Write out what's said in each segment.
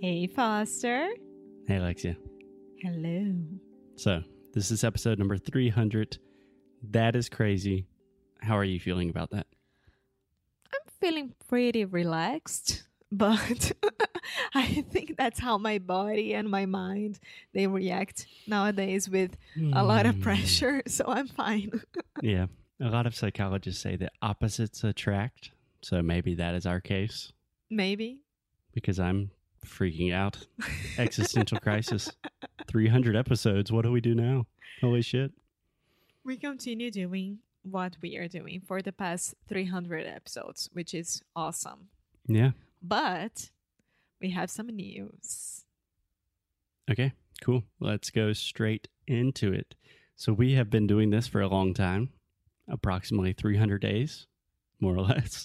Hey, Foster. Hey, Alexia. Hello. So, this is episode number 300. That is crazy. How are you feeling about that? I'm feeling pretty relaxed, but I think that's how my body and my mind, they react nowadays with a lot of pressure, so I'm fine. Yeah. A lot of psychologists say that opposites attract. So maybe that is our case. Maybe. Because I'm freaking out. Existential crisis. 300 episodes. What do we do now? Holy shit. We continue doing what we are doing for the past 300 episodes, which is awesome. Yeah. But we have some news. Okay, cool. Let's go straight into it. So we have been doing this for a long time, approximately 300 days, more or less.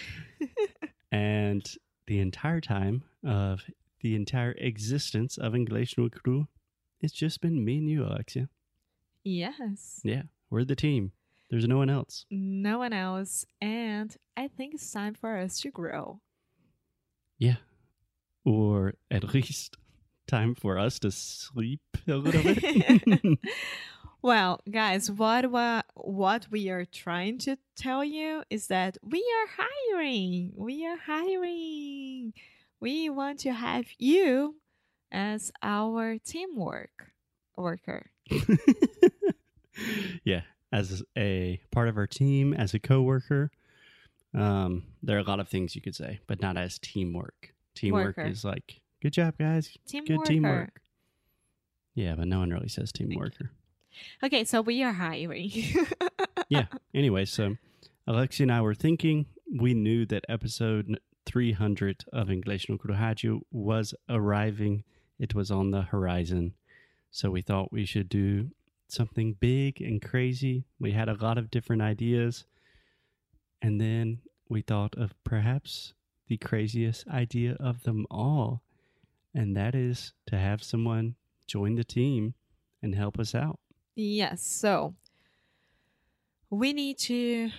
And the entire time of the entire existence of English no Cru, it's just been me and you, Alexia. Yes. Yeah, we're the team. There's no one else. No one else. And I think it's time for us to grow. Yeah. Or at least time for us to sleep a little bit. Well, guys, what we are trying to tell you is that we are hiring. We are hiring. We want to have you as our worker. Yeah, as a part of our team, as a coworker, there are a lot of things you could say, but not as teamwork. Teamwork is like, good job, guys. Good teamwork. Yeah, but no one really says teamworker. Okay, so we are hiring. Yeah. Anyway, so Alexia and I were thinking, we knew that episode 300 of English no Rádio was arriving. It was on the horizon. So we thought we should do something big and crazy. We had a lot of different ideas. And then we thought of perhaps the craziest idea of them all. And that is to have someone join the team and help us out. Yes, so we need to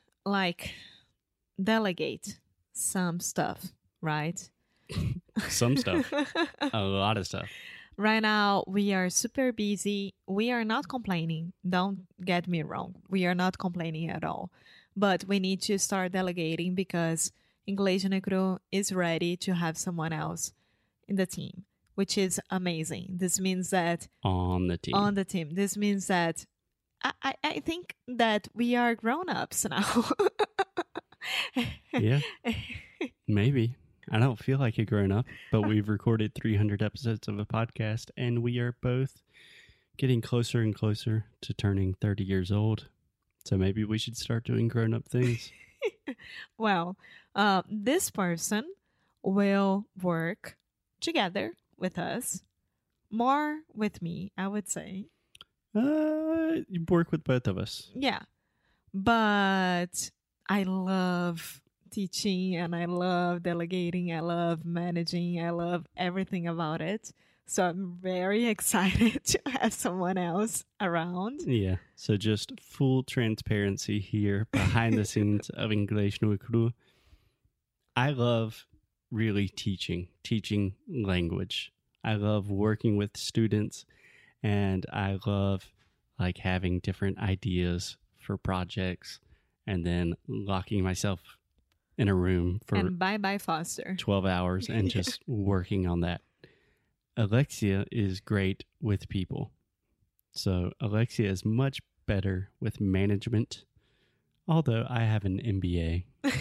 delegate some stuff, right? Some stuff. A lot of stuff. Right now, we are super busy. We are not complaining. Don't get me wrong. We are not complaining at all. But we need to start delegating because English no Cru is ready to have someone else in the team, which is amazing. This means that... On the team. This means that I think that we are grown-ups now. Yeah. Maybe. I don't feel like a grown-up, but we've recorded 300 episodes of a podcast, and we are both getting closer and closer to turning 30 years old. So maybe we should start doing grown-up things. Well, this person will work together with us. More with me, I would say. You work with both of us. Yeah. But I love teaching and I love delegating. I love managing. I love everything about it. So I'm very excited to have someone else around. Yeah. So just full transparency here behind the scenes of English no Cru. I love really teaching language. I love working with students, and I love having different ideas for projects and then locking myself in a room for and bye Foster 12 hours and just working on that. Alexia is great with people. So Alexia is much better with management, although I have an MBA.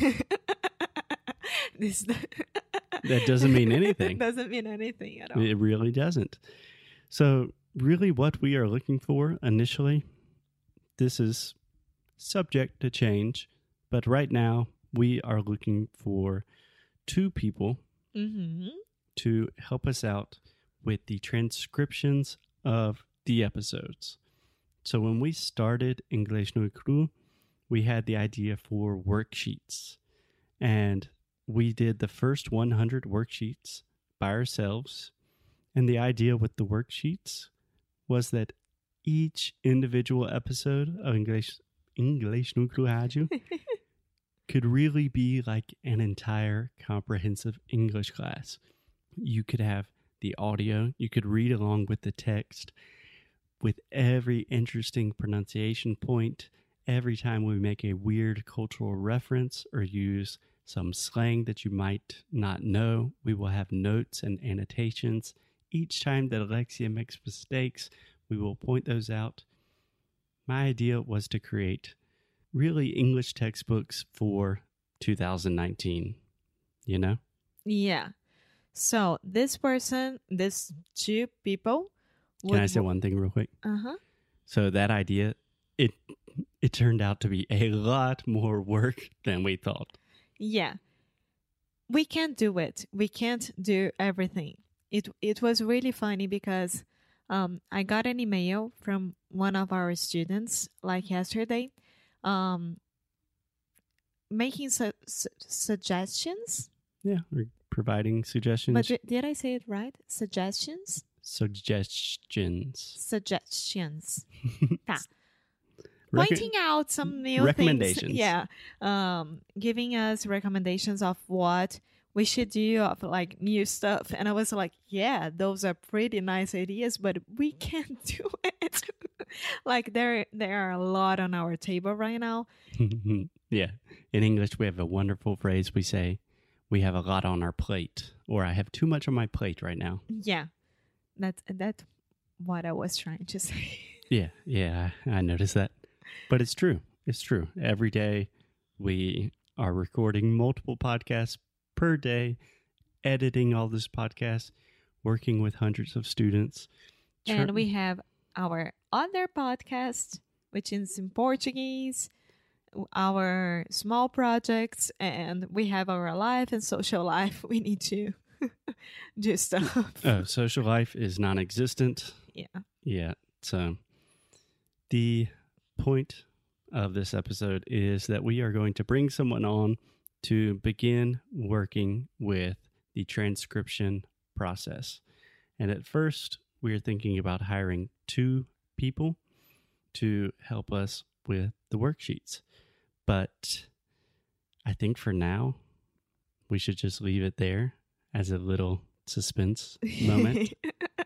That doesn't mean anything. It doesn't mean anything at all. It really doesn't. So really what we are looking for initially, this is subject to change, but right now we are looking for 2 people to help us out with the transcriptions of the episodes. So when we started English no Cru, we had the idea for worksheets. And we did the first 100 worksheets by ourselves. And the idea with the worksheets was that each individual episode of English no Cru Rádio could really be like an entire comprehensive English class You could have the audio. You could read along with the text with every interesting pronunciation point. Every time we make a weird cultural reference or use some slang that you might not know, we will have notes and annotations. Each time that Alexia makes mistakes, we will point those out. My idea was to create really English textbooks for 2019, you know? Yeah. So these two people Can I say one thing real quick? Uh-huh. So that idea, it turned out to be a lot more work than we thought. Yeah. We can't do it. We can't do everything. It was really funny because I got an email from one of our students like yesterday making suggestions. Yeah, we're providing suggestions. But did I say it right? Suggestions? Suggestions. Tá. Pointing out some new recommendations. Things. Yeah. Giving us recommendations of what we should do, of like new stuff. And I was like, yeah, those are pretty nice ideas, but we can't do it. Like there are a lot on our table right now. Yeah. In English, we have a wonderful phrase. We say, we have a lot on our plate, or I have too much on my plate right now. Yeah. That's what I was trying to say. Yeah, I noticed that. But it's true. It's true. Every day we are recording multiple podcasts per day, editing all this podcast, working with hundreds of students. And we have our other podcast, which is in Portuguese, our small projects, and we have our life and social life. We need to do stuff. Social life is non-existent. Yeah. So the point of this episode is that we are going to bring someone on to begin working with the transcription process. And at first, we are thinking about hiring 2 people to help us with the worksheets. But I think for now, we should just leave it there as a little suspense moment.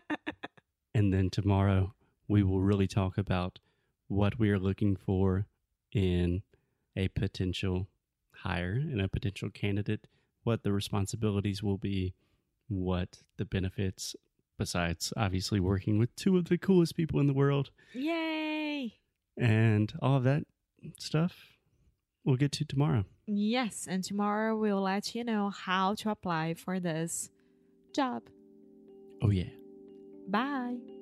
And then tomorrow, we will really talk about what we are looking for in a potential hire, in a potential candidate, what the responsibilities will be, what the benefits, besides obviously working with 2 of the coolest people in the world. Yay! And all of that stuff we'll get to tomorrow. Yes, and tomorrow we'll let you know how to apply for this job. Oh, yeah. Bye.